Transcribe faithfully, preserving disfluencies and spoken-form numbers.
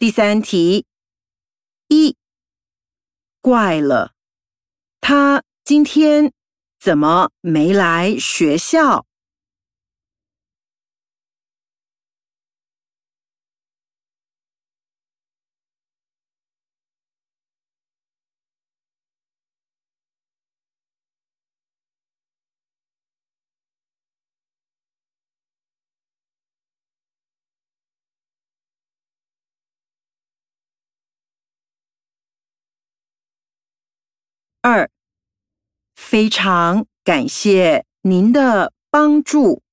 第三题，一，怪了，他今天怎么没来学校？二，非常感谢您的帮助。